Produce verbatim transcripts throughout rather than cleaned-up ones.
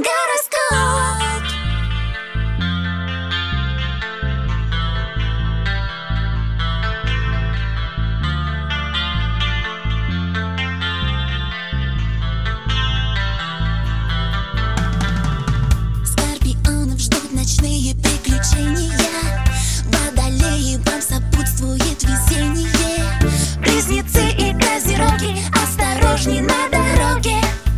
Гороскоп. Скорпионов ждут ночные приключения. Водолеи, вам сопутствует везение. Близнецы и козероги, осторожней на дороге.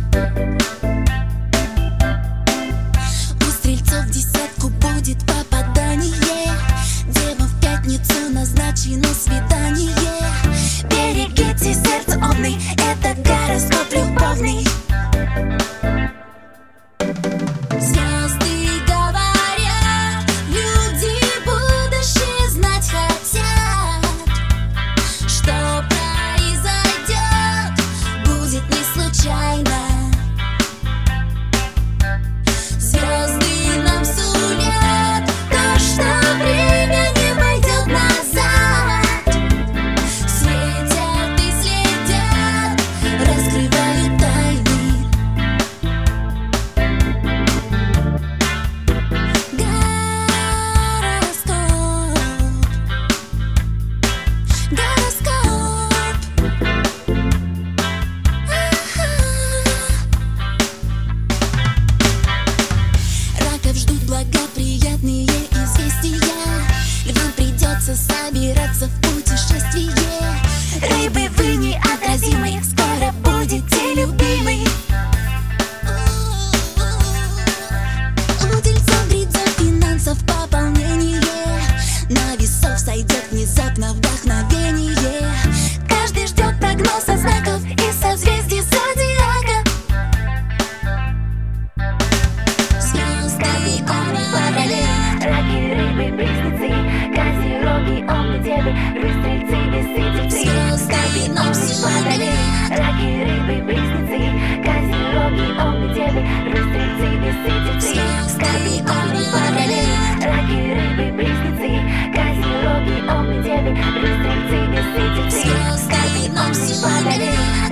У стрельцов в десятку будет попадание. Девам в пятницу назначено свидание. Берегите сердце, овны, это гороскоп любовный. Звезды говорят, люди будущее знать хотят. Что произойдет, будет не случайно. Звезды нам сулят то, что время не пойдет назад. Светят и следят, раскрывают тайны. Благоприятные известия. Львам придется собираться в путешествие. Рыбы, вы неотразимы, скоро будете любимы. У тельцов грядет финансов пополнение. На весов сойдет внезапно вдохновение. Каждый ждет прогноза знаков и созвездий зодиака. Звезды, овны, водолеи, раки, рыбы, близнецы, козероги, овны, девы, львы, стрельцы, весы, тельцы. Звезды, овны, водолеи, раки, рыбы, близнецы, козероги, овны, девы, львы, стрельцы, весы, тельцы. Звезды, овны, водолеи, раки, рыбы, близнецы, козероги, овны, девы, львы, стрельцы, весы, тельцы. Звезды, овны, водолеи.